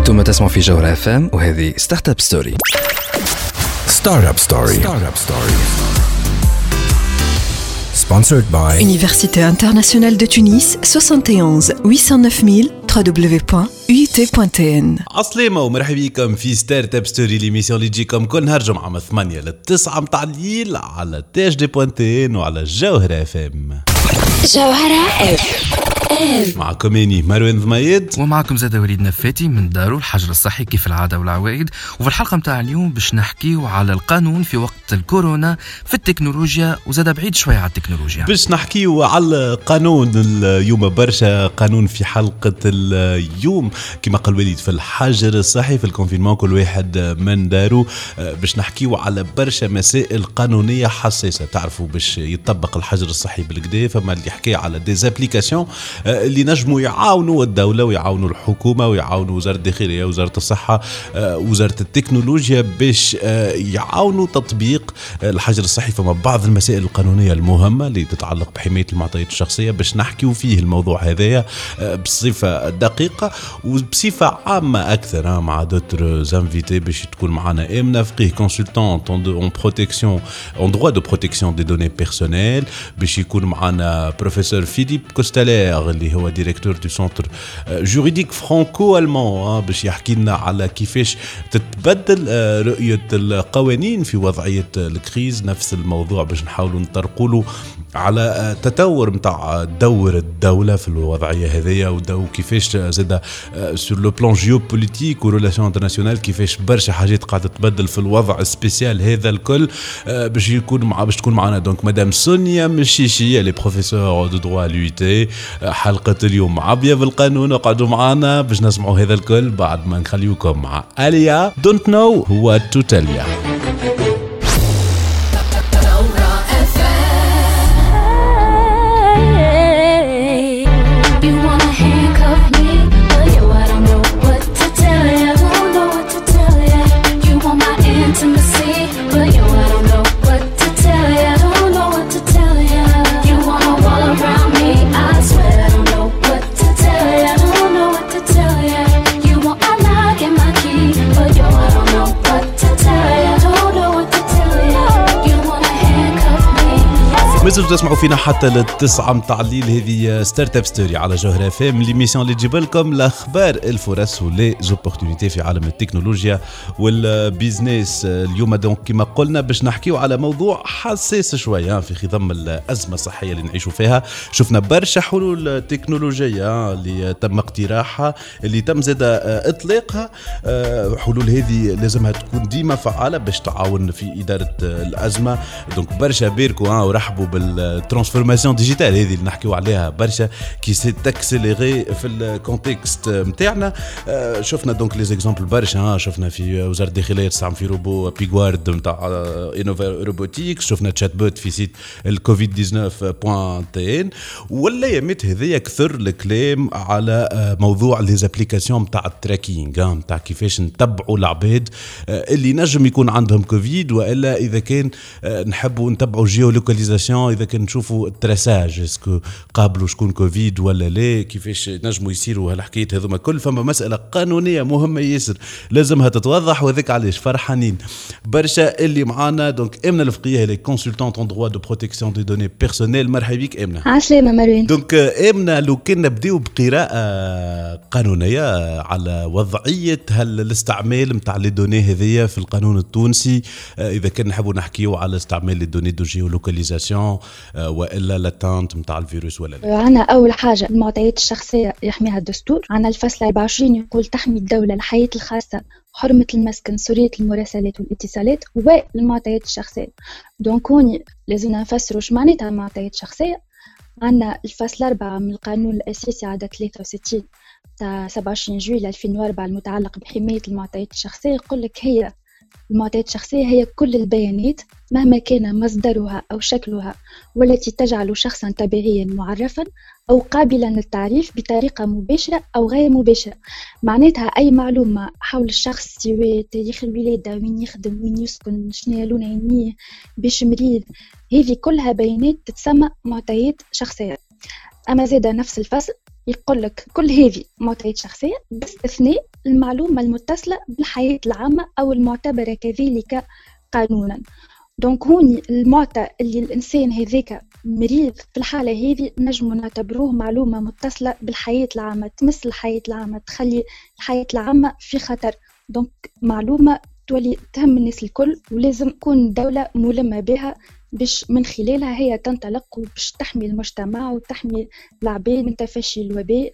انتم تسمعوا في جوهرة FM وهذه ستارت اب ستوري. Sponsored by Université internationale de Tunis 71 809 www.uit.tn. عسلامة ومرحبا بكم في ستارت اب ستوري، ليميسيون اللي تجيكم كل نهار جمعة من 8 ل 9 متاع الليل على THD.tn وعلى جوهرة FM. جوهرة FM معكم اني مروان ضميد ومعكم زاد وليد نفاتي من دارو الحجر الصحي كيف العادة والعوائد. وفي الحلقة متاع اليوم باش نحكيو على القانون في وقت الكورونا في التكنولوجيا، وزاد بعيد شوية على التكنولوجيا باش نحكيو على القانون اليوم. برشا قانون في حلقة اليوم كما قال وليد في الحجر الصحي في الكونفينمون كل واحد من دارو. باش نحكيو على برشا مسائل قانونية حساسة. تعرفوا باش يطبق الحجر الصحي بالكدا فما اللي يحكي على ديزابليكاسيون اللي نجموا يعاونوا الدولة ويعاونوا الحكومة ويعاونوا وزارة الداخلية وزارة الصحة وزارة التكنولوجيا باش يعاونوا تطبيق الحجر الصحي. فما بعض المسائل القانونية المهمة اللي تتعلق بحماية المعطيات الشخصية باش نحكيو فيه الموضوع هذايا بصفة دقيقة وبصفة عامة أكثر مع دوتر زانفيتي باش تكون معنا إمنا فقيه كونسلتون en protection en droit de protection des données personnelles. باش يكون معنا بروفيسور فيليب كوستالير اللي هو ديريكتور دو سنتر جوريديك فرانكو ألمان باش يحكي لنا على كيفاش تتبدل رؤية القوانين في وضعية الكريز. نفس الموضوع باش نحاولوا نطرقوا على تطور متاع دور الدولة في الوضعية هذية ودو كيفاش زاد سور لو بلان جيوبوليتيك وريلاسيون انترناسيونال كيفاش برشا حاجات قاعدة تتبدل في الوضع السبيسيال هذا الكل. باش تكون معنا دونك مدام سونيا مشيشي اللي بروفيسور دو دروا لويتي. حلقة اليوم عبية بالقانون، اقعدوا معنا باش نسمعوا هذا الكل بعد ما نخليوكم مع آليا Don't know what to tell ya. مازلتوا تسمعوا فينا حتى للتسعة متاع الليل. هذه ستارت اب ستوري على جوهرة FM، ليميسيون اللي تجيب لكم الاخبار الفرص وليزوبورتونيتي في عالم التكنولوجيا والبيزنس. اليوم دونك كما قلنا باش نحكيو على موضوع حساس شويه في خضم الازمه الصحيه اللي نعيشوا فيها. شفنا برشا حلول تكنولوجيه اللي تم اقتراحها اللي تم زاد اطلاقها. حلول هذه لازمها تكون ديما فعاله باش تعاون في اداره الازمه. دونك برشا بيركو ورحبوا بالترانسفورماسيون ديجيتال هذه اللي نحكيو عليها برشا كي سي تاكسيليغي في الكونتكست نتاعنا. شفنا دونك لي زيكزامبل برشا. شفنا في وزاره الداخليه تستعمل في روبو بيغوارد نتاع انوفا روبوتيكس. شفنا تشات بوت في سيت الكوفيد 19.tn. ولا يمت هذيا كثر الكلام على موضوع لي زابليكاسيون نتاع التراكينغ نتاع كيفاش نتبعوا العباد اللي نجم يكون عندهم كوفيد، والا اذا كان نحبوا نتبعوا جيولوكاليزاسيون اذا كان نشوفوا التراساج اسكو قابلوا شكون كوفيد ولا لا، كيفاش نجموا يصيروا هالحكايات هذوما كل. فما مساله قانونيه مهمه ياسر لازمها تتوضح، وذاك علاش فرحانين برشا اللي معانا. دونك امنا الفقيه اللي كونسلتانت ان دروا دو بروتيكسيون دي دوني بيرسونيل. مرحبا بك امنا. عسلامة مروان. دونك امنا لو كان نبداو بقراءه قانونيه على وضعيه هل الاستعمال نتاع لي دوني هذيا في القانون التونسي، اذا كان نحبوا نحكيو على استعمال لي دوني دو جيولوكاليزاسيون والا لاتانت نتاع الفيروس ولا لا. عنا اول حاجه المعطيات الشخصيه يحميها الدستور. عنا الفصل 24 يقول تحمي الدوله الحياه الخاصه، حرمه المسكن، سريه المراسلات والاتصالات والمعطيات الشخصيه. دونك هوني لازم نفسروا اش معناتها المعطيات الشخصيه. عنا الفصل 4 من القانون الاساسي عدد 63 تاع 27 جويلية 2004 المتعلق بحمايه المعطيات الشخصيه يقول لك هي المعطيات الشخصية هي كل البيانات مهما كان مصدرها أو شكلها والتي تجعل شخصا طبيعيا معرفا أو قابلا للتعريف بطريقة مباشرة أو غير مباشرة. معناتها أي معلومة حول الشخص سواء تاريخ الولادة، وين يخدم، وين يسكن، شنو لون عينيه، باش مريض، هذه كلها بيانات تتسمى معطيات شخصية. أما زاد نفس الفصل يقول لك كل هذه معطيات شخصية باستثناء المعلومة المتصلة بالحياة العامة أو المعتبرة كذلك قانونا. دونك هوني المعطى اللي الإنسان هذاك مريض في الحالة هذه نجم نعتبروه معلومة متصلة بالحياة العامة، تمس الحياة العامة، تخلي الحياة العامة في خطر. دونك معلومة تولي تهم الناس الكل، ولازم تكون الدولة ملمة بها باش من خلالها هي تنطلق وباش تحمي المجتمع وتحمي العباد من تفشي الوباء،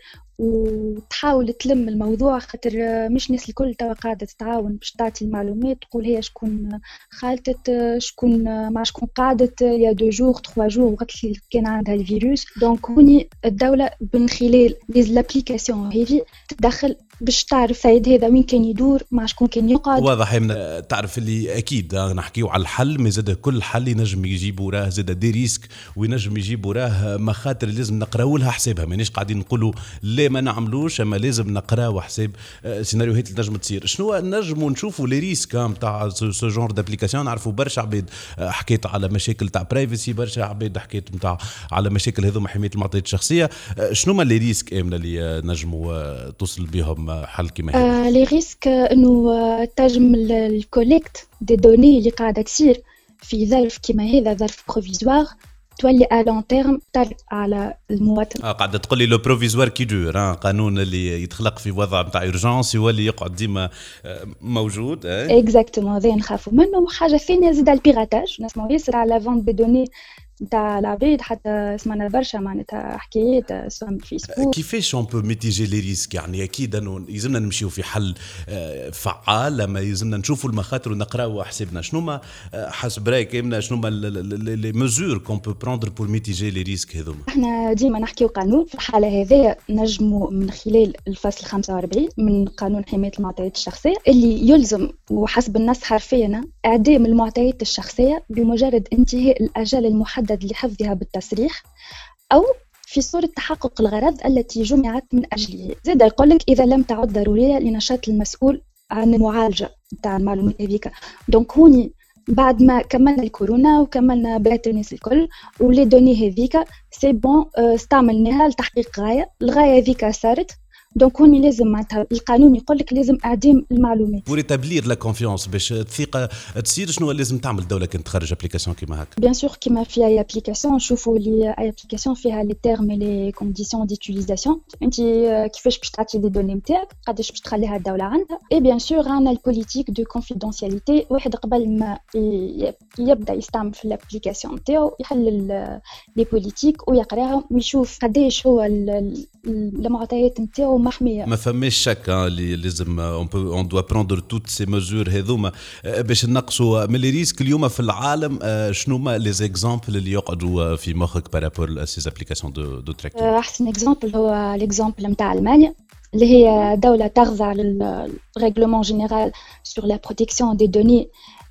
وتحاول تلم الموضوع، خاطر مش الناس الكل توا قاعدة تتعاون باش تعطي المعلومات، تقول هي شكون خالتت، شكون مع شكون قعدت يا 2 جور 3 جور وقت اللي كان عندها الفيروس. دونك هوني الدولة من خلال لابليكاسيون هذه تدخل باش تعرف سيد هذا وين كان يدور، مع شكون كان يقعد. واضح من تعرف اللي اكيد نحكيو على الحل، ما زاد كل حل ينجم يجيب وراه زاد دي ريسك وينجم يجيب وراه مخاطر لازم نقراو لها حسابها. مانيش قاعدين نقولوا لا ما نعملوش، اما لازم نقراو حساب سيناريوهات اللي نجم تصير. شنو نجموا نشوفوا لي ريسك نتاع سو جونر دابليكاسيون؟ نعرفوا برشا عباد حكيت على مشاكل تاع برايفسي، برشا عباد حكيت نتاع على مشاكل هذوما حمايه المعطيات الشخصيه. شنو ما لي ريسك امنا اللي نجموا توصل بهم حل كيما هذا؟ لي ريسك انه تنجم الكوليكت دي دوني اللي قاعده تصير في ظرف كيما هذا، ظرف بروفيزوار، تولي ا لون تيرم طرق على المواطن. قاعده تقول لي لو بروفيزوار كي دور، قانون اللي يتخلق في وضع نتاع اورجانس يولي يقعد ديما موجود. اكزاكتومون، هذا نخافوا منه. وحاجه ثانيه زاد البيراتاج، نسمعوا ياسر على فونت دي دوني نتاع العباد، حتى سمعنا برشا معناتها حكايات سواء في فيسبوك. كيفاش اون بو ميتيجي لي ريسك؟ يعني اكيد انه يلزمنا نمشيو في حل فعال، لما يلزمنا نشوفوا المخاطر ونقراو حسابنا. شنو ما حسب رايك امنا شنو ما لي ميزور كون بو بروندر بور ميتيجي لي ريسك هذوما؟ احنا ديما نحكيو قانون، في الحاله هذه نجموا من خلال الفصل 45 من قانون حمايه المعطيات الشخصيه اللي يلزم وحسب النص حرفيا اعدام المعطيات الشخصيه بمجرد انتهاء الاجل المحدد لحفظها بالتصريح أو في صورة تحقق الغرض التي جمعت من أجله. زاد يقول لك إذا لم تعد ضرورية لنشاط المسؤول عن المعالجة نتاع المعلومات هذيك. دونك هوني بعد ما كملنا الكورونا وكملنا بيات الناس الكل ولي دوني هذيك سي بون استعملناها لتحقيق غاية، الغاية هذيك صارت. دونك هوني لازم معناتها القانون يقول لك لازم اعدام المعلومات. بور تابلير لا كونفيونس باش الثقه تصير، شنو لازم تعمل الدوله كانت تخرج ابليكاسيون كيما هكا؟ بيان سور كيما في اي ابليكاسيون نشوفوا لي اي ابليكاسيون فيها لي تيرم لي كونديسيون ديتيليزاسيون، انت كيفاش باش تعطي لي دوني نتاعك، قداش باش تخليها الدوله عندها. اي بيان سور عندنا البوليتيك دو كونفيدونسياليتي، واحد قبل ما يبدا يستعمل في الابليكاسيون نتاعو يحل لي بوليتيك ويقراهم ويشوف قداش هو المعطيات نتاعو محميه. ما فماش شك اللي لازم اون دوا بروندر توت سي ميزور هذوما باش نقصوا من لي ريسك اليوم في العالم. شنو ما لي زيكزامبل اللي يقعدوا في مخك بارابور سي ابليكاسيون دو تراكينغ؟ احسن اكزامبل هو الاكزامبل نتاع المانيا اللي هي دولة تخضع للريغلومون جينيرال سور لا بروتيكسيون دي دوني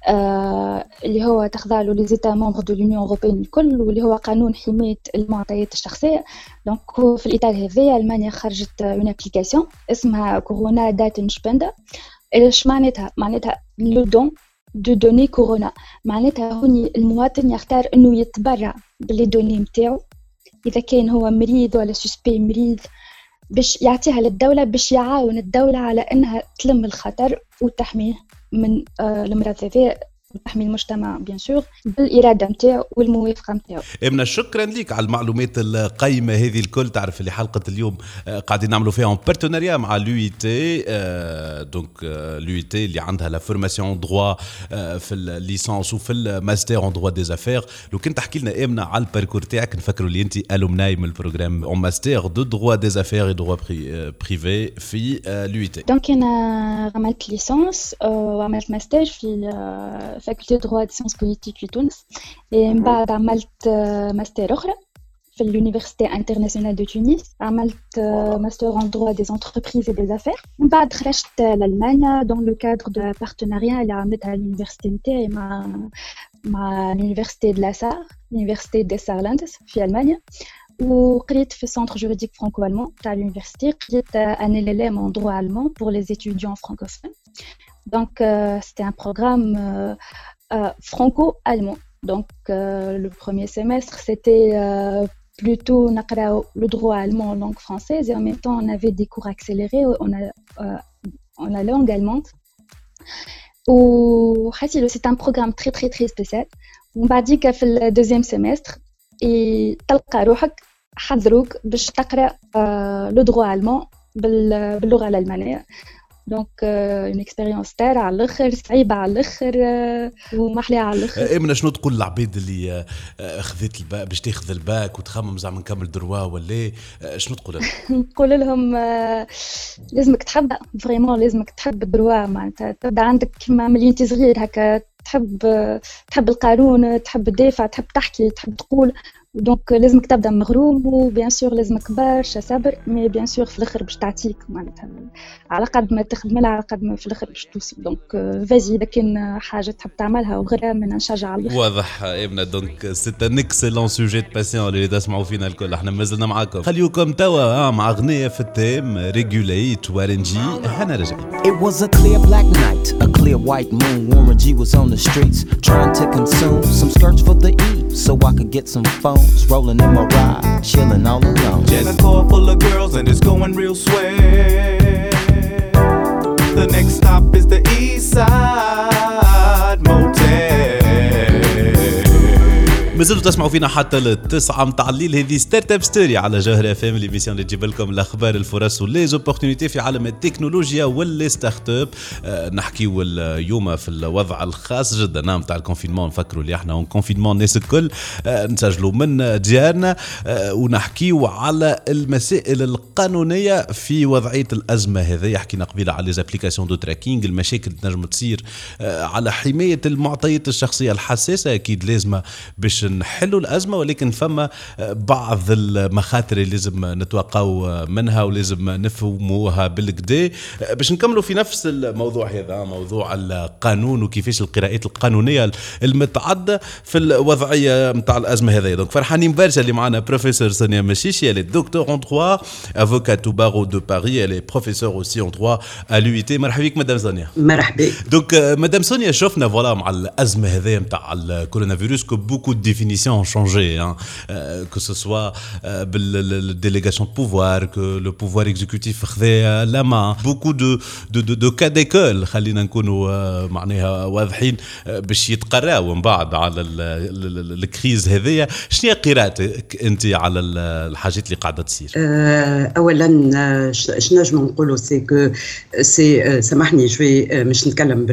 اللي هو تخضع له لي زيتا ممبر دو لونيون اوروبيين الكل، واللي هو قانون حماية المعطيات الشخصية. دونك في الإطار هذايا ألمانيا خرجت اون ابليكاسيون اسمها كورونا داتنشبندا. ايش معناتها؟ معناتها لو دون دو دوني كورونا، معناتها هوني المواطن يختار انه يتبرع باللي دوني نتاعو اذا كان هو مريض ولا سوسبي مريض، باش يعطيها للدولة باش يعاون الدولة على انها تلم الخطر وتحميه من المرض هذا وتحمي المجتمع بيان سور بالإرادة نتاعو والموافقة نتاعو. امنا شكرا لك على المعلومات القيمة هذه الكل. تعرف اللي حلقة اليوم قاعدين نعملوا فيها بارتناريا مع l'UIT، دونك l'UIT اللي عندها لا فورماسيون دروا في الليسانس وفي الماستر اون دروا دي زافير. لو كنت تحكي لنا امنا على الباركور تاعك، نفكروا اللي انت الومناي من البروغرام اون ماستر دو دروا دي زافير اي دروا بريفي في l'UIT. دونك انا عملت ليسانس وعملت ماستر في فاكولتي دروا دي سيونس بوليتيك في تونس، من بعد عملت ماستر اخرى في l'Université internationale de Tunis، عملت ماستر en droit des entreprises et des affaires. من بعد خرجت لألمانيا dans le cadre de partenariat اللي عملتها اليونيفرسيتي نتاعي مع l'Université de la Sarre، l'Université des Saarlandes في ألمانيا، وقريت في السنتر جوريديك فرانكو ألمان تاع l'université. قريت un LLM en droit allemand pour les étudiants francophones. Donc c'était un programme franco-allemand. Donc le premier semestre c'était plutôt le droit allemand en langue française, et en même temps on avait des cours accélérés. en la langue allemande. وحاسي c'est un programme très très très spécial. ومن بعديك في الدوزيام سيمستر تلقى روحك حضروك باش تقرا لو دروا ألمان باللغه الالمانيه. دونك اون اكسبيريونس تاع على الاخر صعيبه على الاخر ومحليه على الاخر. امنا شنو تقول للعباد اللي خذت الباك باش تاخذ الباك وتخمم زعما نكمل دروا ولا شنو تقول لهم؟ نقول لهم لازمك تحب فريمون لازمك تحب الدروا معناتها تبدا عندك كيما ملي انت صغير هكا تحب القانون تحب تدافع تحب تحكي تحب تقول. دونك لازمك تبدا مغروم وبيان سور لازمك برشا صبر مي بيان سور في الاخر باش تعطيك معناتها على قد ما تخدم لها على قد ما في الاخر باش توصل. دونك فازي اذا كان حاجه تحب تعملها وغيرها من نشجع على الاخر. واضح ابنا دونك سي ان اكسلون سوجي دو باسيون اللي تسمعوا فينا الكل. احنا مازلنا معاكم خليوكم توا مع اغنيه في التيم ريجوليت وارنجي. احنا راجعين. It was a clear black night, a clear white moon. Warren G was on the streets trying to consume some skirts for the E so I could get some phones. Rolling in my ride, chilling all alone. Jenna car full of girls and it's going real swell. The next stop is the East Side Motel. مازلتوا تسمعوا فينا حتى التسعة متاع الليل. هذه ستارت اب ستوري على جوهر اف ام ليميسيون اللي تجيب لكم الاخبار الفرص وليزوبورتينيتي في عالم التكنولوجيا واللي ستارت اب. نحكيو اليوم في الوضع الخاص جدا نتاع الكونفينمون. نفكروا اللي احنا اون كونفينمون الناس الكل نسجلوا من ديارنا ونحكيو على المسائل القانونيه في وضعيه الازمه هذه. حكينا قبيله على ليزابليكاسيون دو تراكينغ المشاكل تنجم تصير على حمايه المعطيات الشخصيه الحساسه. اكيد لازمه باش نحلوا الأزمة ولكن فما بعض المخاطر اللي لازم نتوقعوا منها ولازم نفهموها بالكدا. باش نكملوا في نفس الموضوع هذا موضوع القانون وكيفاش القراءات القانونية المتعددة في الوضعية متاع الأزمة هذه. دونك فرحانين برشا اللي معنا بروفيسور سونيا مشيشي. Elle est docteur en droit, avocate au barreau de Paris. Elle est professeure aussi en droit à l'UIT. مرحبا بك مدام سونيا. مرحبا. دونك مدام سونيا شفنا فوالا مع الأزمة هذه متاع الكورونا فيروس que beaucoup de définitions ont changé, hein. Que ce soit la délégation de pouvoir, que le pouvoir exécutif خذا la main, beaucoup de cas d'école خلينا نكونوا معناها واضحين باش يتقراو من بعد على الكريز هذيا. شنو قراءتك انت على الحاجات اللي قاعده تصير؟ اولا شنو نجم نقولوا سي كو سي سامحني شوي مش نتكلم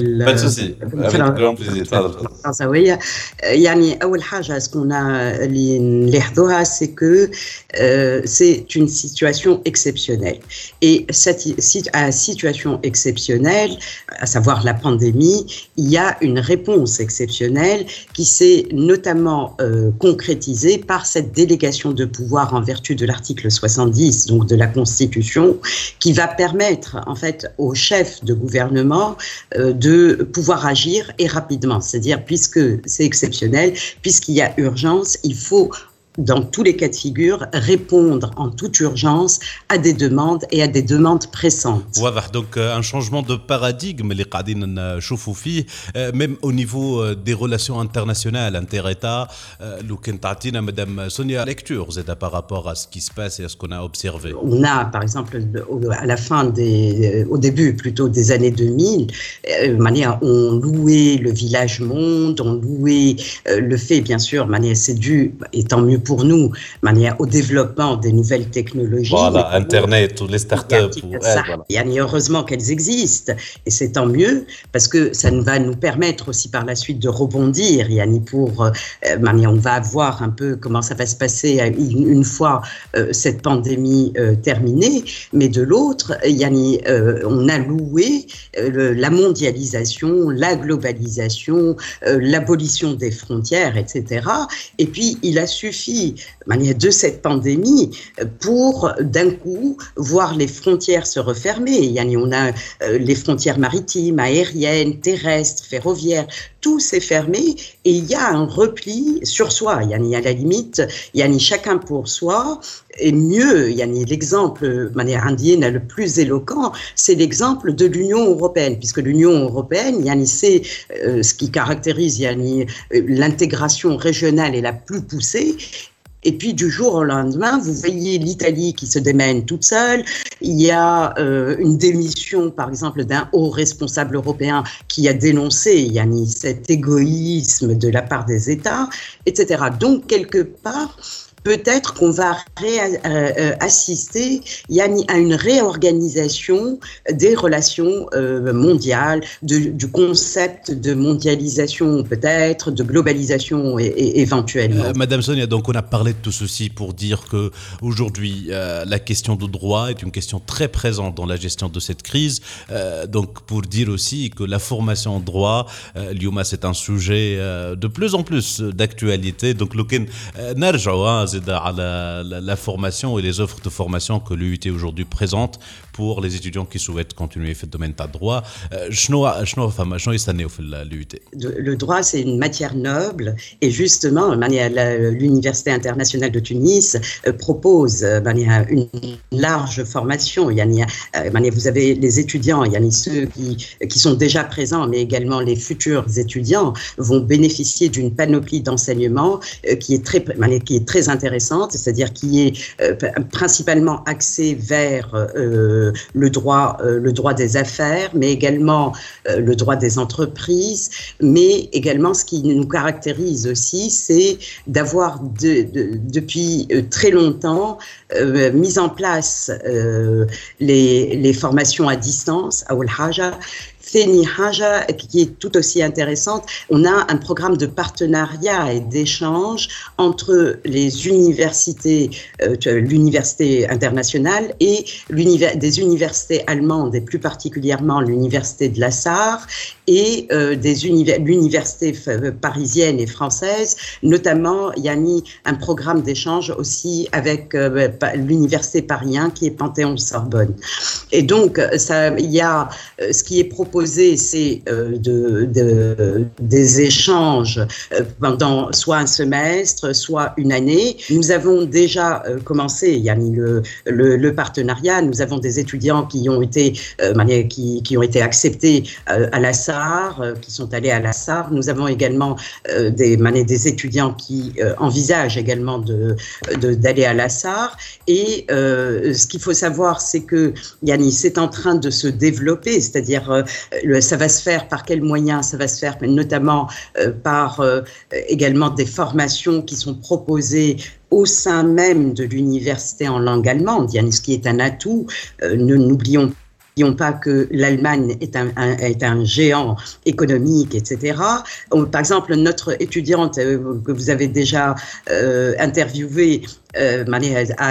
بالفرنساويه. يعني اول حاجه اسكون اللي نلاحظوها سي كو سي une situation exceptionnelle et cette situation exceptionnelle, à savoir la pandémie, il y a une réponse exceptionnelle qui s'est notamment concrétisée par cette délégation de pouvoir en vertu de l'article 70 donc de la Constitution qui va permettre en fait aux chefs de gouvernement de pouvoir agir et rapidement. C'est-à-dire puisque c'est exceptionnel, puisqu'il y a urgence, il faut dans tous les cas de figure, répondre en toute urgence à des demandes et à des demandes pressantes. واضح donc un changement de paradigme اللي قاعدين نشوفوا فيه même au niveau des relations internationales inter-États. لو كنت تعطينا مدام سونيا lecture c'est par rapport à ce qui se passe et à ce qu'on a observé. On a par exemple à la fin au début plutôt des années 2000, on louait le village monde, on louait le fait bien sûr, c'est dû et tant mieux pour nous, au développement des nouvelles technologies. Voilà, Internet ou les startups. Heureusement qu'elles existent, et c'est tant mieux, parce que ça va nous permettre aussi par la suite de rebondir. On va voir un peu comment ça va se passer une fois cette pandémie terminée, mais de l'autre, on a loué la mondialisation, la globalisation, l'abolition des frontières, etc. Et puis, il a suffi de cette pandémie pour d'un coup voir les frontières se refermer. On a les frontières maritimes, aériennes, terrestres, ferroviaires, tout s'est fermé et il y a un repli sur soi. À la limite, chacun pour soi. Et mieux, l'exemple indienne le plus éloquent, c'est l'exemple de l'Union européenne, puisque l'Union européenne, c'est ce qui caractérise l'intégration régionale est la plus poussée. Et puis du jour au lendemain, vous voyez l'Italie qui se démène toute seule. Il y a une démission, par exemple, d'un haut responsable européen qui a dénoncé Yanni, cet égoïsme de la part des États, etc. Donc, quelque part, peut-être qu'on va assister à une réorganisation des relations mondiales, du concept de mondialisation peut-être, de globalisation éventuellement. Madame Sonia, donc on a parlé de tout ceci pour dire que aujourd'hui la question du droit est une question très présente dans la gestion de cette crise. Donc pour dire aussi que la formation en droit, اليوم c'est un sujet de plus en plus d'actualité. Donc لكن نرجع à la formation et les offres de formation que l'UIT aujourd'hui présente pour les étudiants qui souhaitent continuer dans le domaine du droit. Le droit, c'est une matière noble et justement, l'Université internationale de Tunis propose une large formation. Vous avez les étudiants, ceux qui sont déjà présents, mais également les futurs étudiants vont bénéficier d'une panoplie d'enseignements qui est très intéressante, c'est-à-dire qui est principalement axée vers le droit des affaires, mais également le droit des entreprises, mais également ce qui nous caractérise aussi, c'est d'avoir depuis très longtemps mis en place les formations à distance, à Haja. Theni Haja, qui est tout aussi intéressante, on a un programme de partenariat et d'échange entre les universités, l'université internationale et des universités allemandes, et plus particulièrement l'université de la Sarre, et l'université parisienne et française, notamment il y a mis un programme d'échange aussi avec l'université Paris 1 qui est Panthéon-Sorbonne. Et donc il y a ce qui est proposé, c'est des échanges pendant soit un semestre, soit une année. Nous avons déjà commencé, il y a mis le partenariat. Nous avons des étudiants qui ont été acceptés à la Sarre, qui sont allés à la Sarre. Nous avons également des étudiants qui envisagent également d'aller à la Sarre. Et ce qu'il faut savoir, c'est que Yanni, c'est en train de se développer, c'est-à-dire ça va se faire par quels moyens? Ça va se faire notamment par également des formations qui sont proposées au sein même de l'université en langue allemande, ce qui est un atout. N'oublions pas que l'Allemagne est un géant économique, etc. Par exemple, notre étudiante que vous avez déjà interviewée a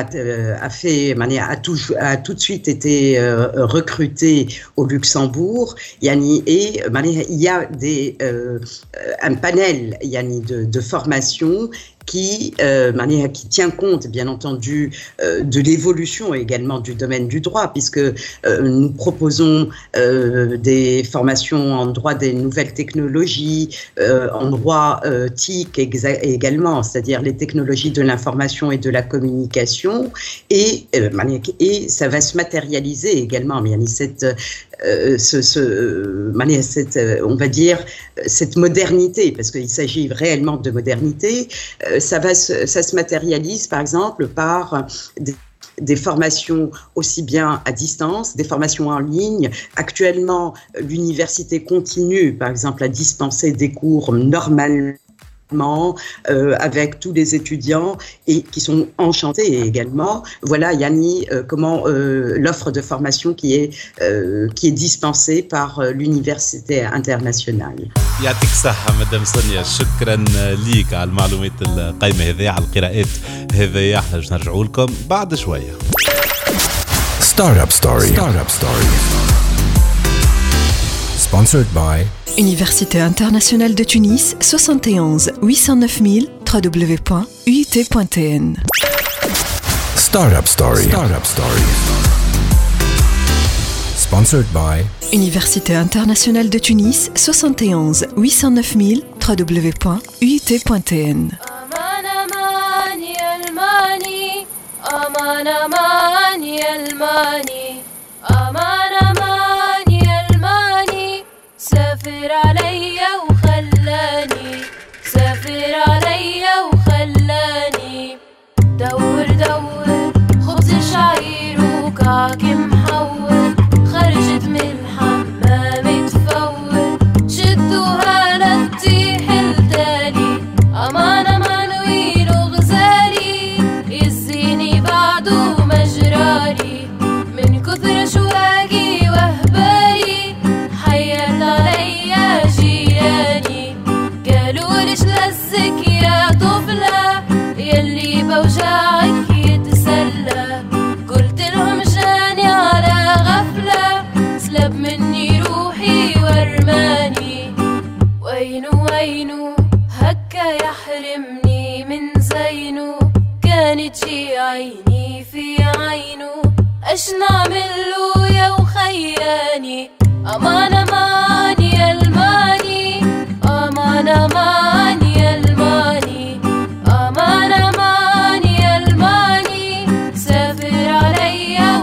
tout de suite été recrutée au Luxembourg. Et il y a un panel de formation qui tient compte, bien entendu, de l'évolution également du domaine du droit, puisque nous proposons des formations en droit des nouvelles technologies, en droit TIC également, c'est-à-dire les technologies de l'information et de la communication, et ça va se matérialiser également, on va dire, cette modernité, parce qu'il s'agit réellement de modernité. Ça se matérialise, par exemple, par des formations aussi bien à distance, des formations en ligne. Actuellement, l'université continue, par exemple, à dispenser des cours normalement avec tous les étudiants et qui sont enchantés également. Voilà, Yanni, comment l'offre de formation qui est dispensée par l'université internationale. يعطيك الصحة مدام سونيا، شكرا ليك على المعلومات القيمة هذه، على القراءات هذه. احنا باش نرجعوا لكم بعد شوية. Startup Story. Sponsored by Université internationale de Tunis, 71 809 000 www.uit.tn. Startup Story. Sponsored by Université internationale de Tunis, 71 809 000 www.uit.tn. سافر عليا وخلاني صباعك محول خرجت من الحمام تفول شدوها لتطيح التالي أمان أمان ويلو غزالي يزيني بعده مجرالي من كثر شواقي وهبالي حيات عليا جيراني قالوا ليش لزك يا طفلة يلي بوجعك يتسلى قلت لهم جاني على غفلة سلب مني روحي ورماني وينو وينو هكا يحرمني من زينو كانت شي عيني في عينو اش نعملو يا وخياني امان امان يا الماني امان امان يا الماني امان امان يا الماني سافر عليا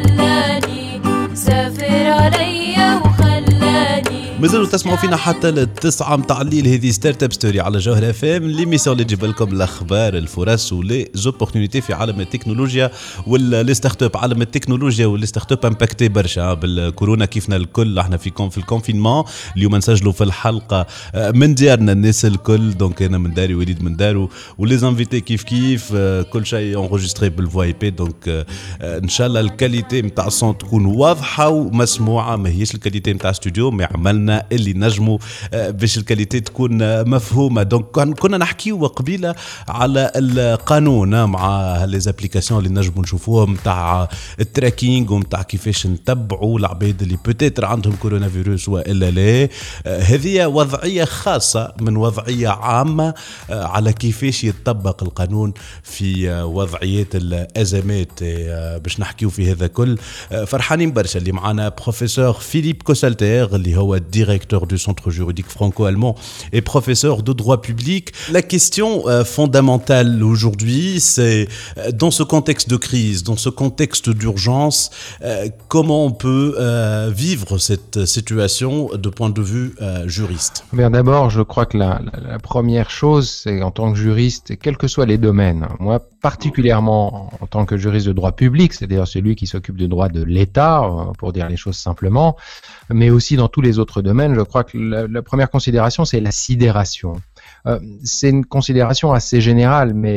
وخلاني سافر عليا وخلاني. مازالوا تسمعوا فينا حتى التسعة متاع الليل. هذه ستارت اب ستوري على جوهر اف ام، ليميسيون اللي تجيب لكم الاخبار الفرص ولي زوبورتونيتي في عالم التكنولوجيا واللي ستارت اب. عالم التكنولوجيا واللي ستارت اب امباكتي برشا بالكورونا كيفنا الكل. احنا في الكونفينمون اليوم نسجلوا في الحلقه من ديارنا الناس الكل، دونك انا من داري وليد من دارو ولي زانفيتي كيف كل شيء انغوجستري بالفوا اي بي. دونك ان شاء الله الكاليتي نتاع الصوت تكون واضحه ومسموعه، ما هيش الكاليتي نتاع استوديو، ما عملنا اللي نجموا باش الكاليتي تكون مفهومه. دونك كنا نحكيو قبيله على القانون مع لي زابليكاسيون اللي نجموا نشوفوهم نتاع التراكينغ ونتاع كيفاش نتبعوا العباد اللي بوتيتر عندهم كورونا فيروس والا لا. هذه وضعيه خاصه من وضعيه عامه على كيفاش يتطبق القانون في وضعيات الازمات. باش نحكيو في هذا كل فرحانين برشا اللي معنا بروفيسور فيليب كوسالتير اللي هو directeur du centre juridique franco-allemand et professeur de droit public. La question fondamentale aujourd'hui, c'est dans ce contexte de crise, dans ce contexte d'urgence, comment on peut vivre cette situation de point de vue juriste. Bien, d'abord, je crois que la première chose, c'est en tant que juriste, quels que soient les domaines, moi particulièrement en tant que juriste de droit public, c'est-à-dire celui qui s'occupe du droit de l'État, pour dire les choses simplement, mais aussi dans tous les autres domaines, je crois que la première considération, c'est la sidération. C'est une considération assez générale, mais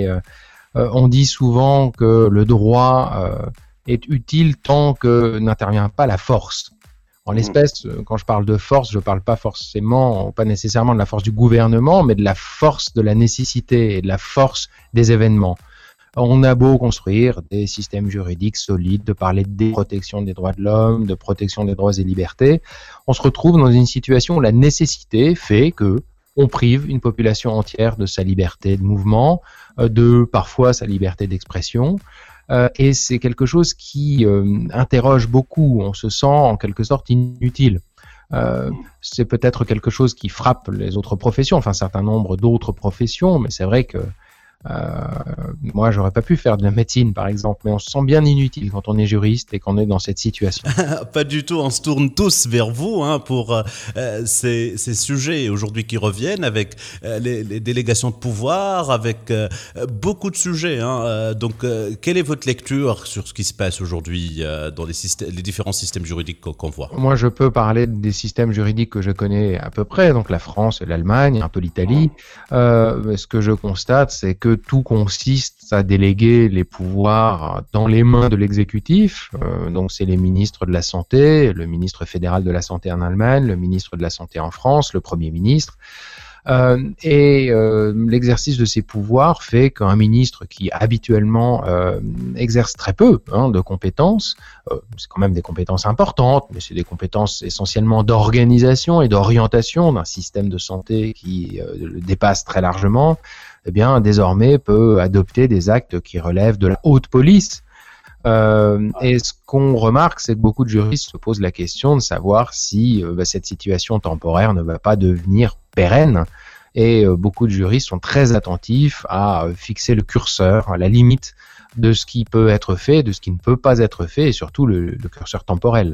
on dit souvent que le droit est utile tant que n'intervient pas la force. En l'espèce, quand je parle de force, je parle pas forcément, pas nécessairement de la force du gouvernement, mais de la force de la nécessité et de la force des événements. On a beau construire des systèmes juridiques solides, de parler de protection des droits de l'homme, de protection des droits et libertés, on se retrouve dans une situation où la nécessité fait que on prive une population entière de sa liberté de mouvement, de parfois sa liberté d'expression. Et c'est quelque chose qui interroge beaucoup. On se sent en quelque sorte inutile. C'est peut-être quelque chose qui frappe les autres professions, enfin un certain nombre d'autres professions, mais c'est vrai que moi, j'aurais pas pu faire de la médecine, par exemple, mais on se sent bien inutile quand on est juriste et qu'on est dans cette situation. Pas du tout, on se tourne tous vers vous pour ces sujets aujourd'hui qui reviennent avec les délégations de pouvoir, avec beaucoup de sujets. Donc, quelle est votre lecture sur ce qui se passe aujourd'hui dans les différents systèmes juridiques qu'on voit? Moi, je peux parler des systèmes juridiques que je connais à peu près, donc la France, l'Allemagne, un peu l'Italie. Ce que je constate, c'est que tout consiste à déléguer les pouvoirs dans les mains de l'exécutif. Donc c'est les ministres de la Santé, le ministre fédéral de la Santé en Allemagne, le ministre de la Santé en France, le Premier ministre. L'exercice de ces pouvoirs fait qu'un ministre qui habituellement exerce très peu de compétences, c'est quand même des compétences importantes, mais c'est des compétences essentiellement d'organisation et d'orientation d'un système de santé qui le dépasse très largement, eh bien désormais peut adopter des actes qui relèvent de la haute police. Et ce qu'on remarque, c'est que beaucoup de juristes se posent la question de savoir si cette situation temporaire ne va pas devenir pérenne. Et beaucoup de juristes sont très attentifs à fixer le curseur, à la limite de ce qui peut être fait, de ce qui ne peut pas être fait, et surtout le curseur temporel.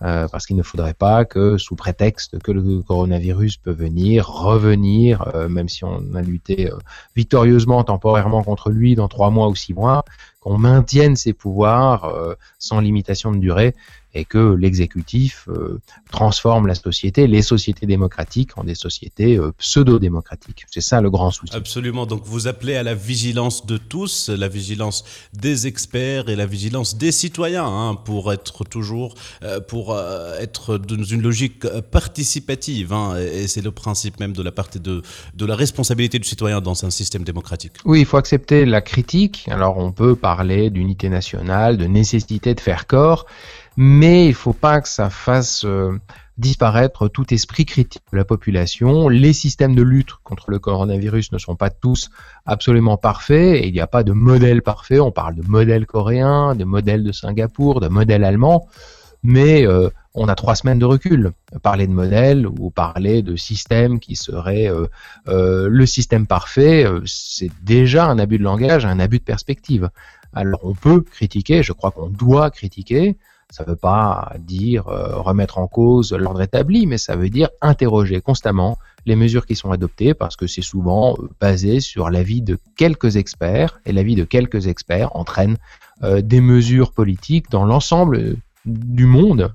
parce qu'il ne faudrait pas que, sous prétexte que le coronavirus peut revenir, même si on a lutté victorieusement temporairement contre lui dans 3 mois ou 6 mois, qu'on maintienne ses pouvoirs sans limitation de durée et que l'exécutif transforme la société, les sociétés démocratiques en des sociétés pseudo-démocratiques. C'est ça le grand souci. Absolument. Donc vous appelez à la vigilance de tous, la vigilance des experts et la vigilance des citoyens pour être toujours, être dans une logique participative. Et c'est le principe même de la partie de la responsabilité du citoyen dans un système démocratique. Oui, il faut accepter la critique. Alors on peut parler d'unité nationale, de nécessité de faire corps, mais il ne faut pas que ça fasse disparaître tout esprit critique de la population. Les systèmes de lutte contre le coronavirus ne sont pas tous absolument parfaits, et il n'y a pas de modèle parfait. On parle de modèle coréen, de modèle de Singapour, de modèle allemand, mais on a 3 semaines de recul. Parler de modèle ou parler de système qui serait le système parfait, c'est déjà un abus de langage, un abus de perspective. Alors on peut critiquer, je crois qu'on doit critiquer. Ça ne veut pas dire remettre en cause l'ordre établi, mais ça veut dire interroger constamment les mesures qui sont adoptées, parce que c'est souvent basé sur l'avis de quelques experts, et l'avis de quelques experts entraîne des mesures politiques dans l'ensemble du monde,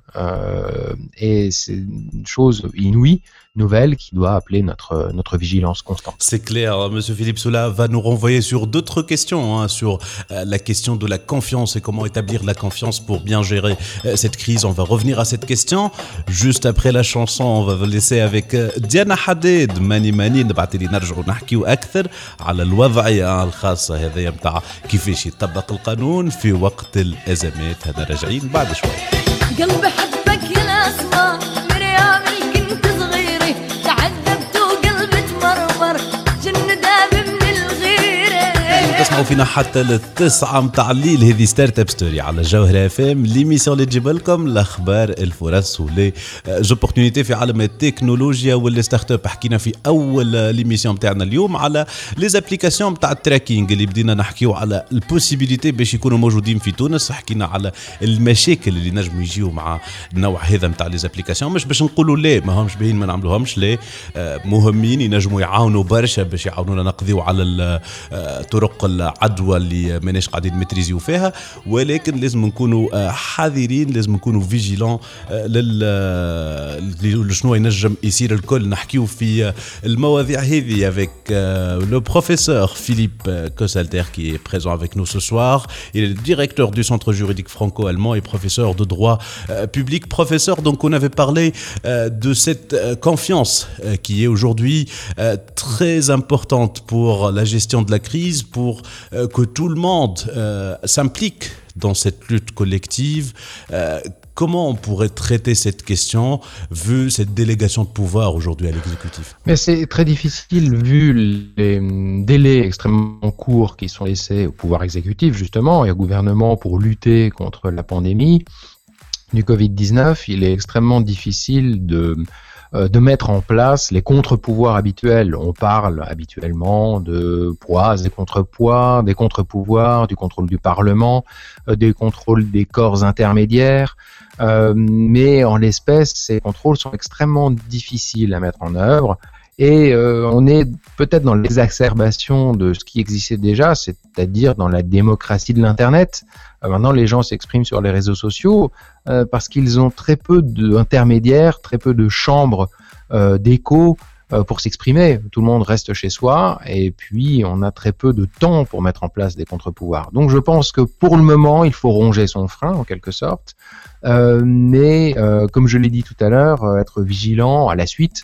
et c'est une chose inouïe, nouvelle, qui doit appeler notre vigilance constante. C'est clair. Monsieur Philippe Soula va nous renvoyer sur d'autres questions, sur la question de la confiance et comment établir la confiance pour bien gérer cette crise. On va revenir à cette question juste après la chanson. On va vous laisser avec Diana Hadid, Mani Mani. نبعثي لي نرجعوا نحكيو أكثر على الوضعية الخاصة هذه متاع كيفاش يطبق القانون في وقت الأزمات. هذا راجعين بعد شوي. قلبي حبك يا الأسمر مريم كنت صغيرة تعذبت وقلبي تمرمر جن داب من الغيرة. تسمعوا فينا حتى 9 متاع الليل. هذه ستارت اب ستوري على جوهرة اف ام، ليميسيون اللي تجيب لكم الاخبار الفرص ولي زوبورتونيتي في عالم التكنولوجيا واللي ستارت اب. حكينا في اول ليميسيون نتاعنا اليوم على لي زابليكاسيون نتاع التراكينغ اللي بدينا نحكيو على البوسيبيليتي باش يكونوا موجودين في تونس. حكينا على المشاكل اللي نجموا يجيو مع النوع هذا نتاع لي زابليكاسيون، مش باش نقولوا لا ما همش باين ما نعملوهمش، لا مهمين، ينجموا يعاونوا برشا باش يعاونونا نقضيو على طرق العدوى اللي ماناش قاعدين متريزيو فيها، ولكن لازم نكونوا حذرين، لازم نكونوا فيجيلون شنو ينجم يصير. الكل نحكيو في المواضيع هذه avec le professeur Philippe Kossalter qui est présent avec nous ce soir. Il est le directeur du centre juridique franco-allemand et professeur de droit public. Professeur, donc on avait parlé de cette confiance qui est aujourd'hui très importante pour la gestion de la crise, pour que tout le monde s'implique dans cette lutte collective. Comment on pourrait traiter cette question vu cette délégation de pouvoir aujourd'hui à l'exécutif? Mais c'est très difficile vu les délais extrêmement courts qui sont laissés au pouvoir exécutif justement et au gouvernement pour lutter contre la pandémie du Covid-19. Il est extrêmement difficile de mettre en place les contre-pouvoirs habituels. On parle habituellement de poids et contre-poids, des contre-pouvoirs, du contrôle du Parlement, des contrôles des corps intermédiaires. Mais en l'espèce, ces contrôles sont extrêmement difficiles à mettre en œuvre. Et on est peut-être dans l'exacerbation de ce qui existait déjà, c'est-à-dire dans la démocratie de l'Internet. Maintenant, les gens s'expriment sur les réseaux sociaux parce qu'ils ont très peu d'intermédiaires, très peu de chambres d'écho pour s'exprimer. Tout le monde reste chez soi et puis on a très peu de temps pour mettre en place des contre-pouvoirs. Donc je pense que pour le moment, il faut ronger son frein en quelque sorte. Mais comme je l'ai dit tout à l'heure, être vigilant à la suite,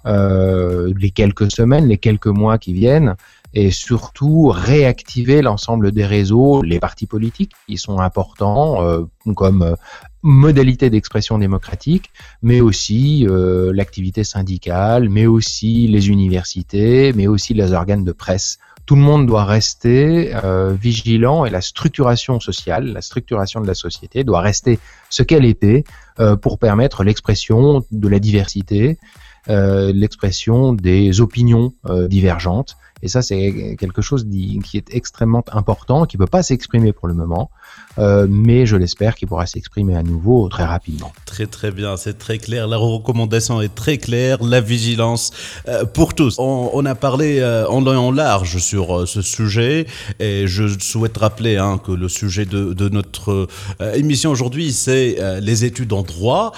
les quelques semaines, les quelques mois qui viennent, et surtout réactiver l'ensemble des réseaux, les partis politiques qui sont importants comme modalité d'expression démocratique, mais aussi l'activité syndicale, mais aussi les universités, mais aussi les organes de presse. Tout le monde doit rester vigilant et la structuration sociale, la structuration de la société doit rester ce qu'elle était pour permettre l'expression de la diversité, l'expression des opinions divergentes Et ça, c'est quelque chose qui est extrêmement important, qui ne peut pas s'exprimer pour le moment, mais je l'espère qu'il pourra s'exprimer à nouveau très rapidement. Très très bien, c'est très clair. La recommandation est très claire, la vigilance pour tous. On a parlé en long et en large sur ce sujet et je souhaite rappeler que le sujet de notre émission aujourd'hui, c'est les études en droit.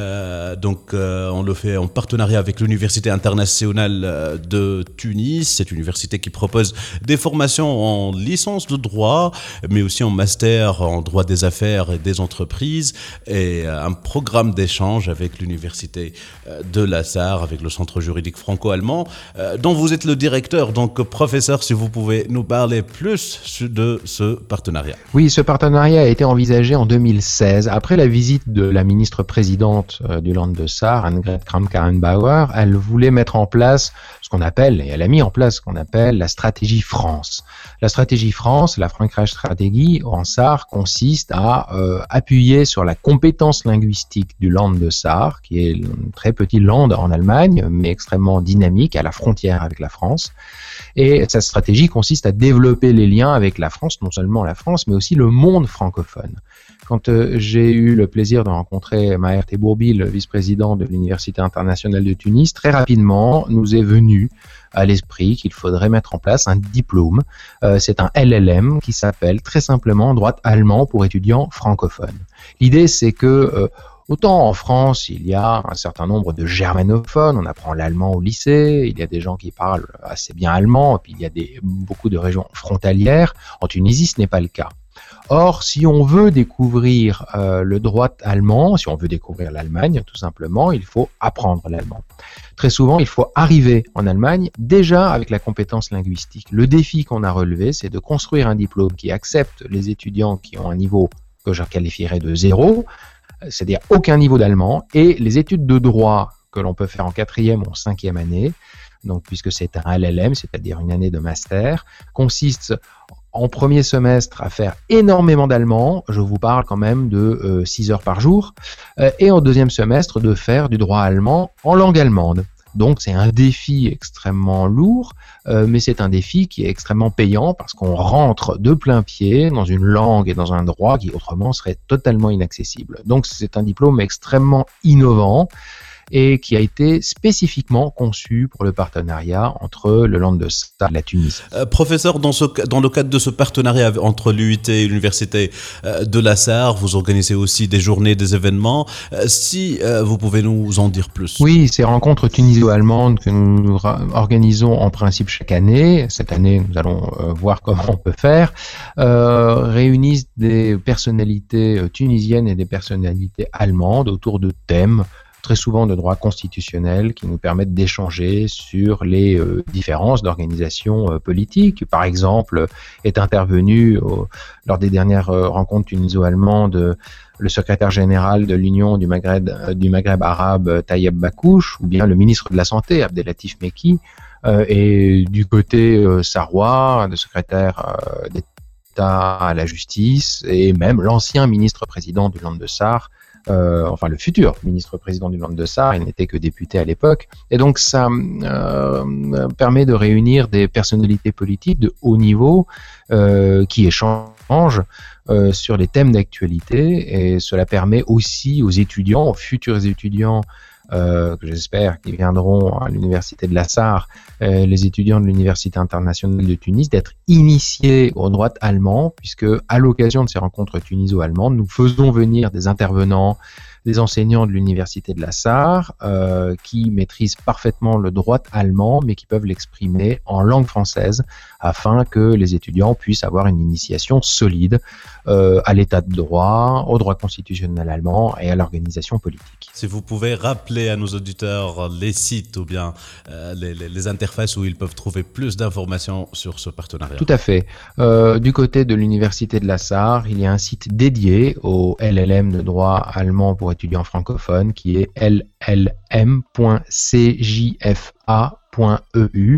Donc on le fait en partenariat avec l'Université internationale de Tunis. C'est une université qui propose des formations en licence de droit, mais aussi en master en droit des affaires et des entreprises, et un programme d'échange avec l'Université de la Sarre, avec le Centre juridique franco-allemand, dont vous êtes le directeur. Donc, professeur, si vous pouvez nous parler plus de ce partenariat. Oui, ce partenariat a été envisagé en 2016, après la visite de la ministre-présidente du Land de Sarre, Annegret Kramp-Karrenbauer. Elle voulait mettre en place ce qu'on appelle, et elle a mis en place ce qu'on appelle la stratégie France. La stratégie France, la Frankreich-Stratégie en Sarre, consiste à appuyer sur la compétence linguistique du Land de Sarre, qui est un très petit land en Allemagne, mais extrêmement dynamique, à la frontière avec la France. Et cette stratégie consiste à développer les liens avec la France, non seulement la France, mais aussi le monde francophone. Quand j'ai eu le plaisir de rencontrer Maher Tebourbi, le vice-président de l'Université internationale de Tunis, très rapidement nous est venu à l'esprit qu'il faudrait mettre en place un diplôme. C'est un LLM qui s'appelle très simplement droit allemand pour étudiants francophones. L'idée, c'est que autant en France, il y a un certain nombre de germanophones, on apprend l'allemand au lycée, il y a des gens qui parlent assez bien allemand, et puis il y a beaucoup de régions frontalières. En Tunisie, ce n'est pas le cas. Or, si on veut découvrir le droit allemand, si on veut découvrir l'Allemagne, tout simplement, il faut apprendre l'allemand. Très souvent, il faut arriver en Allemagne déjà avec la compétence linguistique. Le défi qu'on a relevé, c'est de construire un diplôme qui accepte les étudiants qui ont un niveau que je qualifierais de 0, c'est-à-dire aucun niveau d'allemand, et les études de droit que l'on peut faire en 4e ou en 5e année, donc puisque c'est un LLM, c'est-à-dire une année de master, consiste en premier semestre à faire énormément d'allemand, je vous parle quand même de 6 heures par jour, et en deuxième semestre de faire du droit allemand en langue allemande. Donc c'est un défi extrêmement lourd, mais c'est un défi qui est extrêmement payant parce qu'on rentre de plein pied dans une langue et dans un droit qui autrement serait totalement inaccessible. Donc c'est un diplôme extrêmement innovant et qui a été spécifiquement conçu pour le partenariat entre le Land de Sarre et la Tunisie. Professeur, dans le cadre de ce partenariat entre l'UIT et l'Université de la Sarre, vous organisez aussi des journées, des événements. Si vous pouvez nous en dire plus. Oui, ces rencontres tuniso-allemandes que nous organisons en principe chaque année, cette année nous allons voir comment on peut faire, réunissent des personnalités tunisiennes et des personnalités allemandes autour de thèmes très souvent de droit constitutionnel qui nous permettent d'échanger sur les différences d'organisation politique. Par exemple, est intervenu lors des dernières rencontres tuniso-allemandes le secrétaire général de l'Union du Maghreb arabe, Tayeb Bakouche, ou bien le ministre de la Santé, Abdelatif Meki, et du côté sarrois, le secrétaire d'État à la justice, et même l'ancien ministre-président du Land de Sarre, enfin le futur ministre-président du Land de Sarre, il n'était que député à l'époque, et donc ça permet de réunir des personnalités politiques de haut niveau qui échangent sur les thèmes d'actualité, et cela permet aussi aux étudiants, aux futurs étudiants que j'espère qu'ils viendront à l'université de la Sarre, les étudiants de l'Université internationale de Tunis, d'être initiés au droit allemand, puisque à l'occasion de ces rencontres tuniso-allemandes, nous faisons venir des intervenants, des enseignants de l'Université de la Sarre, qui maîtrisent parfaitement le droit allemand, mais qui peuvent l'exprimer en langue française, afin que les étudiants puissent avoir une initiation solide à l'état de droit, au droit constitutionnel allemand et à l'organisation politique. Si vous pouvez rappeler à nos auditeurs les sites ou bien les interfaces où ils peuvent trouver plus d'informations sur ce partenariat. Tout à fait. Du côté de l'Université de la Sarre, il y a un site dédié au LLM de droit allemand pour étudiants francophones qui est llm.cjfa.eu,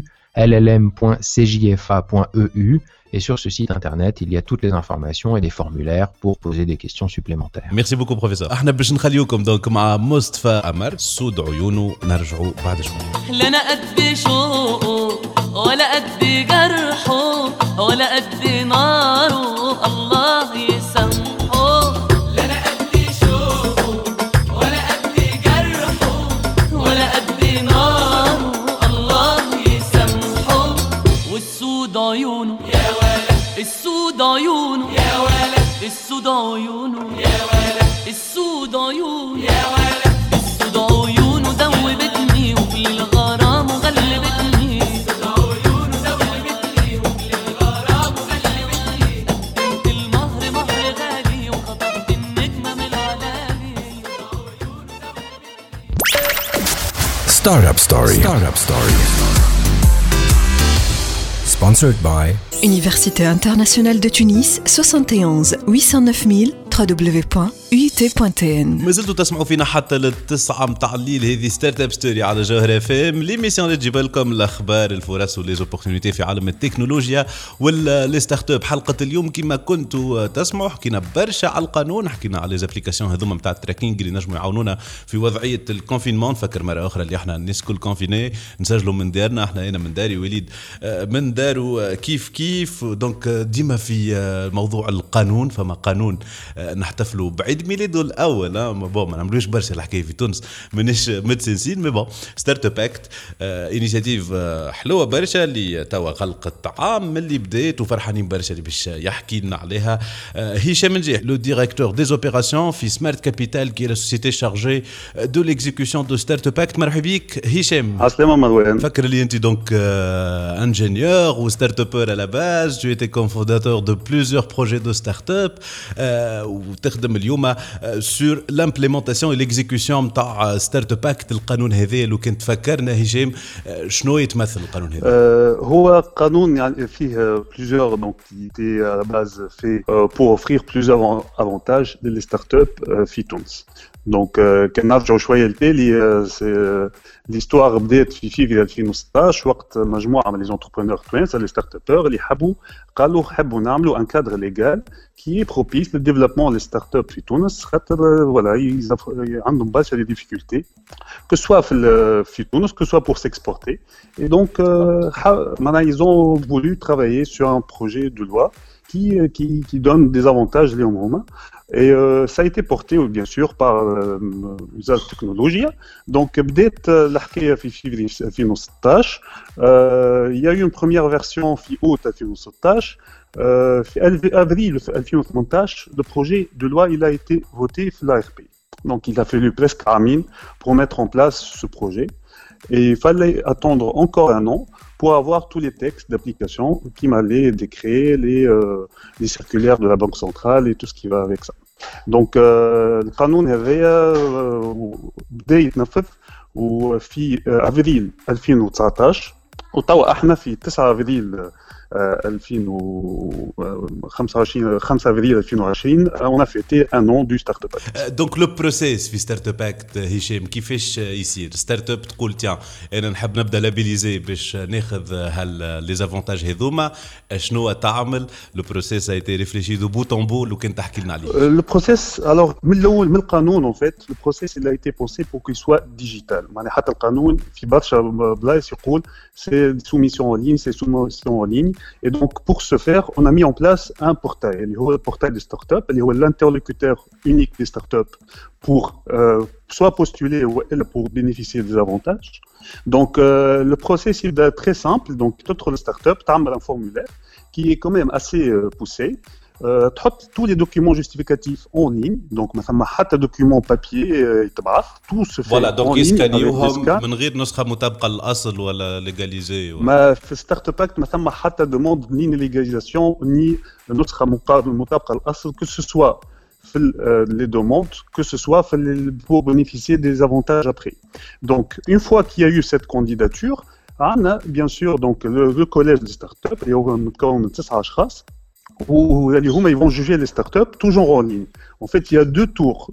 llm.cjfa.eu, et sur ce site internet, il y a toutes les informations et des formulaires pour poser des questions supplémentaires. Merci beaucoup professeur. احنا باش نخليوكم دونك مع مصطفى عمر سود عيونه نرجعوا بعد شوي. ولا قد جرحه ولا قد ناره الله يسامحه لا انا قد شوقه ولا قد جرحه ولا قد ناره الله يسامحه والسود عيونه يا ولد السود عيونه يا ولد السود عيونه يا ولد السود عيونه يا ولد السود عيونه دوبتني وفي الغرام وغلبتني السود عيونه دوبتني وفي الغرام وغلبتني قدمت المهر مهر غالي وخطفت النجمة من العلالي Startup Story. Sponsored by Université internationale de Tunis 71 809 000 www.uit.tn. ما زلتوا تسمعوا فينا حتى للتسعة متاع الليل. هذه ستارت اب ستوري على جوهر اف ام، ليميسيون اللي تجيب لكم الاخبار الفرص وليزوبورتينيتي في عالم التكنولوجيا واللي ستارت اب. حلقه اليوم كما كنتوا تسمعوا حكينا برشا على القانون، حكينا على ليزابليكاسيون هذوما نتاع التراكينغ اللي نجموا يعاونونا في وضعيه الكونفينمون. نفكر مره اخرى اللي احنا الناس كل كونفيني نسجلوا من دارنا، احنا هنا من داري وليد من دارو كيف دونك ديما في موضوع القانون. فما قانون نحتفلوا بعيد ميلاده الاول، ما نعملوش برشا الحكايه في تونس مانيش متسنسين، مي بون ستارت اب اكت انيشيتيف حلوه برشا اللي توا خلقت عام من اللي بدات وفرحانين برشا اللي باش يحكي لنا عليها هشام نجيح لو ديريكتور دي اوبيراسيون في سمارت كابيتال كي لا سوسيتي شارجي دو ليكزيكسيون دو ستارت اب اكت. مرحبا بك هشام. عسلامة مروان. فكر لي انت دونك ingénieur ou start-upper à la base, tu étais cofondateur de plusieurs projets de start-up وتخدم اليوم sur l'implémentation et l'exécution نتاع ستارت-up act. القانون هذا لو كنت فكرنا هشام شنو يتمثل القانون هذا؟ هو قانون يعني فيه plusieurs donc qui était à la base fait pour offrir plusieurs avantages les start-up في تونس. دونك كان نرجعوا شويه للتالي ليستوار بدات في فيفري 2016 وقت مجموعه من لي زونتربرونور توانسه لي ستارت ابور اللي قالوا حبوا نعملوا ان كادر ليغال كي بروبيس للديفلوبمون لي ستارت اب في تونس، خاطر فوالا عندهم برشا دي ديفيكولتي que soit في تونس que soit pour s'exporter. Et donc ils ont voulu travailler sur un projet de loi qui donne des avantages les hommes. Et ça a été porté bien sûr par usage technologie. Donc بدات الحكايه في février 2016. Il y a eu une première version في août 2016. في avril 2018 le projet de loi il a été voté في l'ARP. Donc il a fallu presque un an pour mettre en place ce projet. Et il fallait attendre encore un an pour avoir tous les textes d'application qui m'allaient décrets, les circulaires de la Banque centrale et tout ce qui va avec ça. Donc le قانون هذايا بدا يتنفذ وفي افريل 2019 وتوا احنا في 9 افريل 2025 5 avril 2020 on a fêté un an du Startup Act. Donc le process في Startup Act هشام كيفاش يصير؟ ستارت اب تقول تيان انا نحب نبدا لابيليزي باش ناخذ لي زافونتاج هذوما، شنو تعمل؟ لو بروسيس a été réfléchi de bout en bout لو كان تحكي لنا عليه. Le process alors من الاول من القانون en fait le process il a été pensé pour qu'il soit digital. معناها حتى القانون في برشا بلايص يقول c'est soumission en ligne, c'est soumission en ligne. Et donc, pour ce faire, on a mis en place un portail, le portail des startups, l'interlocuteur unique des startups pour soit postuler ou pour bénéficier des avantages. Donc, le processus est très simple. Donc, toute la startup, tu as un formulaire qui est quand même assez poussé. تحط tous les documents justificatifs en ligne. Donc ما ثم حتى document papier يتبعث tout se fait voilà, donc en ligne من غير نسخة مطابقة للأصل ولا ليغاليزي ما في ستارت اب ما ثم حتى demande ni légalisation ni نسخة مطابقة للأصل que ce soit les demandes que ce soit pour bénéficier des avantages après. Donc une fois qu'il y a eu cette candidature on a bien sûr donc le collège des startups اللي هو متكون من 9 أشخاص où ils vont juger les startups toujours en ligne. En fait, il y a 2 tours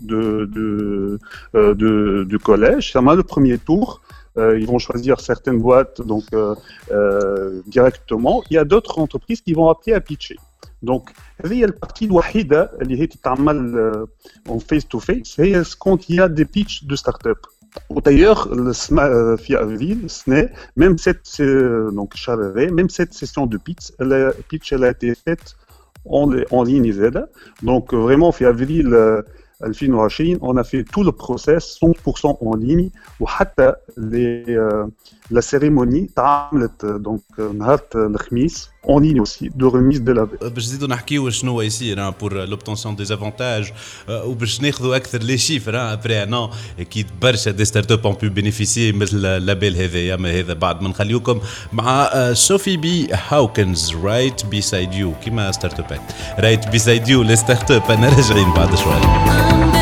de collège. Le premier tour, ils vont choisir certaines boîtes donc directement. Il y a d'autres entreprises qui vont appeler à pitcher. Donc, هذه الpartie الوحيدة اللي هي تتعمل en face to face. C'est quand il y a des pitchs de startups. D'ailleurs, في avril, même donc même cette session de pitch, elle a été faite en ligne. Donc vraiment, في avril 2020, on a fait tout le process 100% en ligne, وحتى la cérémonie تعملت donc نهار الخميس en ligne aussi de remise de la baie. باش نزيدوا نحكيوا شنو يصير pour l'obtention des avantages وباش ناخذوا اكثر لي شيفر après un an اكيد برشا دي ستارت اب ont pu bénéficier مثل اللابيل هذايا. ما هذا بعد ما نخليوكم مع سوفي بي هاوكنز رايت بيسايد يو كيما ستارت اب رايت بيسايد يو لي ستارت اب. انا راجعين بعد شوي.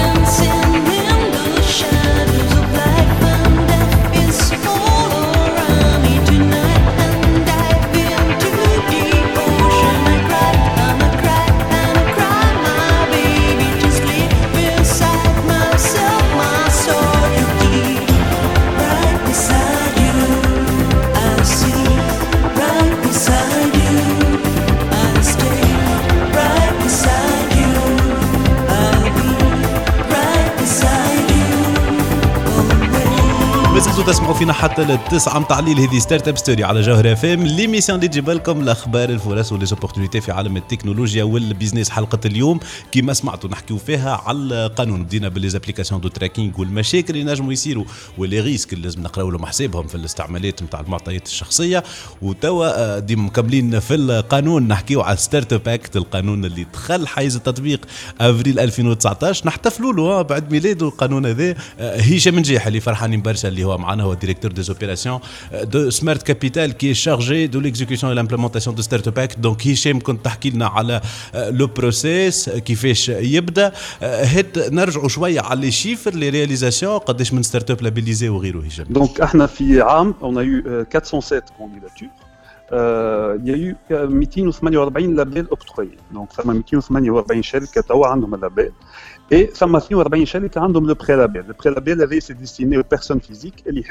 تسمعوا فينا حتى للتسعة متاع الليل. هذه ستارت اب ستوري على جوهر اف ام، ليميسيون اللي تجيب لكم الاخبار الفرص وليزوبورتونيتي في عالم التكنولوجيا والبيزنس. حلقه اليوم كما سمعتوا نحكيو فيها على القانون، بدينا بالليزابليكاسيون دو تراكينغ والمشاكل اللي نجموا يصيروا ولي ريسك اللي لازم نقراو لهم حسابهم في الاستعمالات نتاع المعطيات الشخصيه. وتوا ديما مكملين في القانون نحكيو على ستارت اب اكت، القانون اللي دخل حيز التطبيق افريل 2019. نحتفلوا له بعد ميلاده القانون هذا. هشام نجيح اللي فرحانين برشا اللي هو معنا، هو directeur des opérations de Smart Capital qui est chargé de l'exécution et l'implémentation de Startup Act. Donc هشام كنت تحكي لنا على لو بروسيس كيفاش يبدا. هات نرجعوا شويه على لي شيفر لي رياليزاسيون، قداش من ستارت اب لابيليزي وغيره هشام. دونك احنا في عام on a eu 407 candidatures. Il y a eu 248 labels octroyés. Donc ça m'a 248 شركه توا عندهم اللابيل. Et ça m'a fait 40 شركة عندهم le prélabel. Le prélabel c'est destiné aux personnes physiques اللي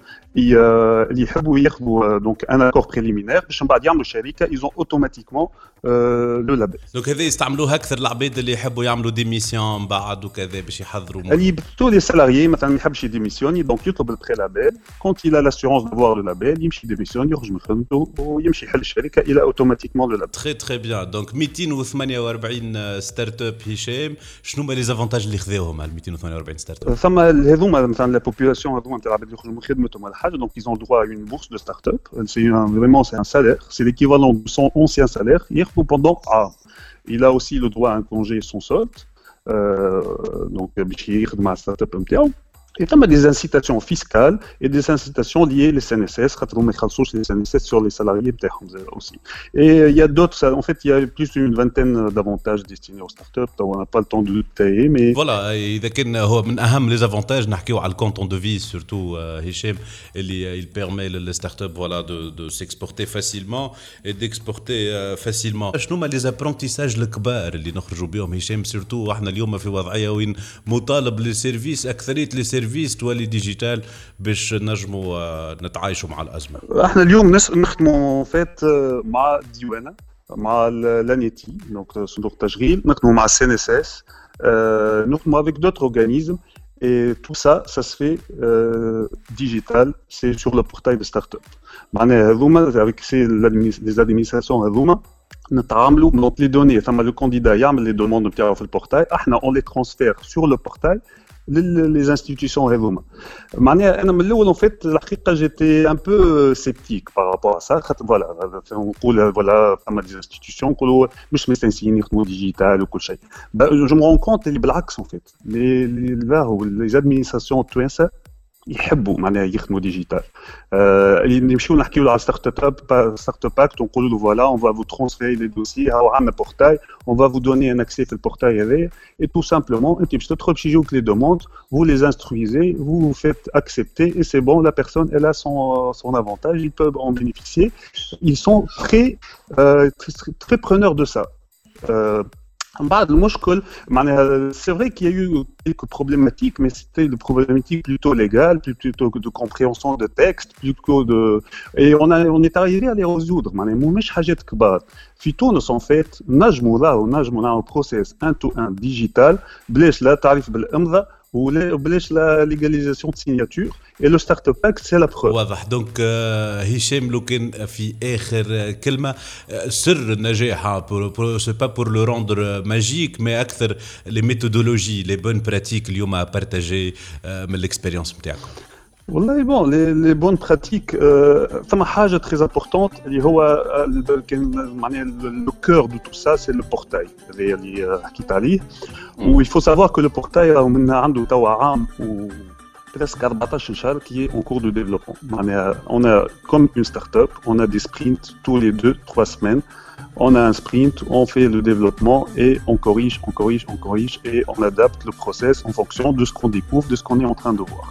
يحبوا ياخذوا donc un accord préliminaire باش من بعد يعملوا شركة ils ont automatiquement le label. Donc هذا يستعملوها أكثر العباد اللي يحبوا يعملوا ديميسيون بعد وكذا باش يحضروا. اللي tous les salariés مثلا ما يحبش يديميسيوني donc يطلب البريلابel. Quand il a l'assurance d'avoir le label يمشي ديميسيون يخرج من خدمته ويمشي يحل الشركة il a automatiquement le label. Très bien. Donc 248 ستارت اب هشام، شنو هما لي avantages اللي خذاوهم على 248 ستارت اب؟ فما هذوما مثلا لا بوبولاسيون هذوما تاع العباد اللي يخرجوا من خدمتهم ولا حاجه donc ils ont droit à une bourse de start-up. C'est un salaire, c'est l'équivalent de son ancien salaire ياخذوا pendant un. Il a aussi le droit à un congé sans solde donc باش يخدم مع الستارت اب نتاعو. Et il y a des incitations fiscales et des incitations liées les CNSS, les CNSS sur les salariés aussi. Et il y a d'autres, en fait, il y a plus d'une vingtaine d'avantages destinés aux startups. On n'a pas le temps de détailler, mais voilà. إذا كان هو من أهم les avantages نحكيو على الكونتون دو في surtout هشام اللي il permet les startups voilà de s'exporter facilement et d'exporter facilement. شنو هما les apprentissages الكبار اللي نخرجوا بهم هشام surtout احنا اليوم في وضعية وين مطالب للسيرفيس أكثرية للسيرفيس تولي ديجيتال باش نجموا نتعايشوا مع الأزمة. احنا اليوم نخدموا فات مع الديوانة مع l'ANETI donc صندوق التشغيل، نخدموا مع CNSS، نخدموا avec d'autres organismes et tout ça se fait digital, c'est sur le portail de start-up. معناها هذوما avec les administrations هذوما نتعاملوا donc les données ثم le candidat يعمل les demandes نتاعو في البورتاي، احنا on les transfère sur le portail les institutions هذوما. معناها انا من الاول en fait الحقيقه j'étais un peu sceptique par rapport à ça. voilà نقول voilà فما des institutions نقولوا مش مستنسين يخدموا ديجيتال وكل شيء. je me rends compte اللي بالعكس en fait les administrations التوانسه يحبوا معناها يخدموا ديجيتال. اللي نمشيو نحكيو على ستارت اب اكت ونقولوا له فوالا اون فا فو ترانسفيري لي دوسي هاو عندنا بورتاي اون فا فو دوني ان اكسي في البورتاي هذايا اي تو سامبلومون انت باش تدخل باش يجوك لي دوموند vous les instruisez, vous vous faites accepter et c'est bon, la personne elle a son avantage, ils peuvent en bénéficier. Ils sont très preneurs de ça. بعد المشكل معناها c'est vrai qu'il y a eu quelques problématiques mais c'était des problématiques plutôt légales, plutôt de compréhension de texte, plutôt de et on est arrivé à les résoudre معناها مش حاجات كبار. في تونس en fait نجموا نعملوا process 1 to 1 digital بلاش لا تعرف بالامضاء وبلاش لا ليغاليزاسيون de signature et le startup pack c'est la preuve. واضح. دونك هشام لو كان في اخر كلمه سر النجاح سي با بور لو روندر ماجيك مي اكثر لي ميثودولوجي لي بون براتيك اليوم بارتاجي من الاكسبيريونس نتاعكم. والله بون لي بون براتيك ثم حاجه تري امبورطونت اللي هو كان معناها لو كور دو تو سا سي لو بورتاي اللي حكيت عليه. و il faut savoir que le portail من عنده توا عام و presque 14 شهر qui est en cours de développement. On a comme une start-up, on a des sprints tous les 2-3 semaines. On a un sprint, on fait le développement et on corrige et on adapte le process en fonction de ce qu'on découvre, de ce qu'on est en train de voir.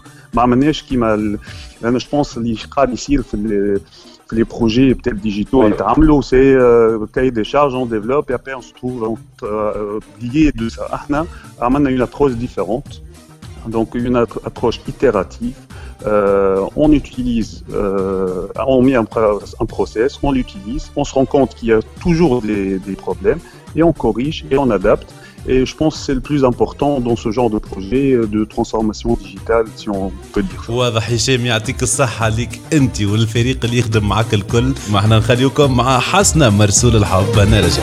Je pense que ici, les projets peut-être digitaux, c'est cahier des charges, on développe et après on se trouve lié de ça. On a une approche différente. Donc une approche itérative, on utilise, on met un process, on l'utilise, on se rend compte qu'il y a toujours des problèmes et on corrige et on adapte. Et je pense que c'est le plus important dans ce genre de projet de transformation digitale, si on peut dire ça. واضح. هشام يعطيك الصحة ليك أنت والفريق اللي يخدم معك الكل. ما احنا نخليكم مع حسنة مرسول الحب. أنا رجع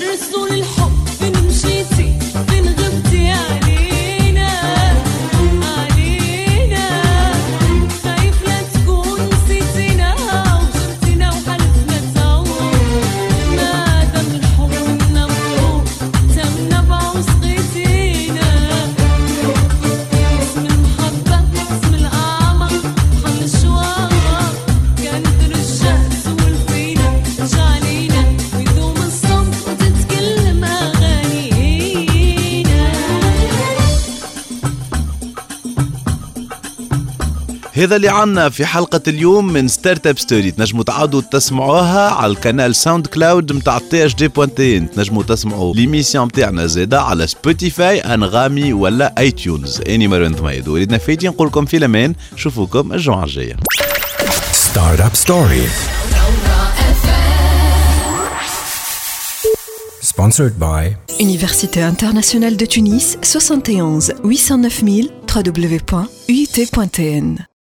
هذا اللي عنا في حلقة اليوم من ستارت اب ستوري. تنجموا تعودوا تسمعوها على القناة ساوند كلاود متاع THD.in. تنجموا تسمعوا ليميسيون متاعنا زادا على سبوتيفاي، انغامي ولا اي تيونز. اني مرون ثميد وليدنا فايتين نقول لكم في الامان. نشوفوكم الجمعة الجاية. ستارت اب ستوري sponsored by Université internationale de Tunis 71 809 000 www.uit.tn